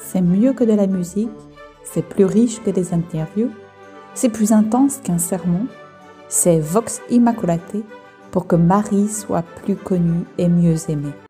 c'est mieux que de la musique, c'est plus riche que des interviews, c'est plus intense qu'un sermon, c'est Vox Immaculaté pour que Marie soit plus connue et mieux aimée.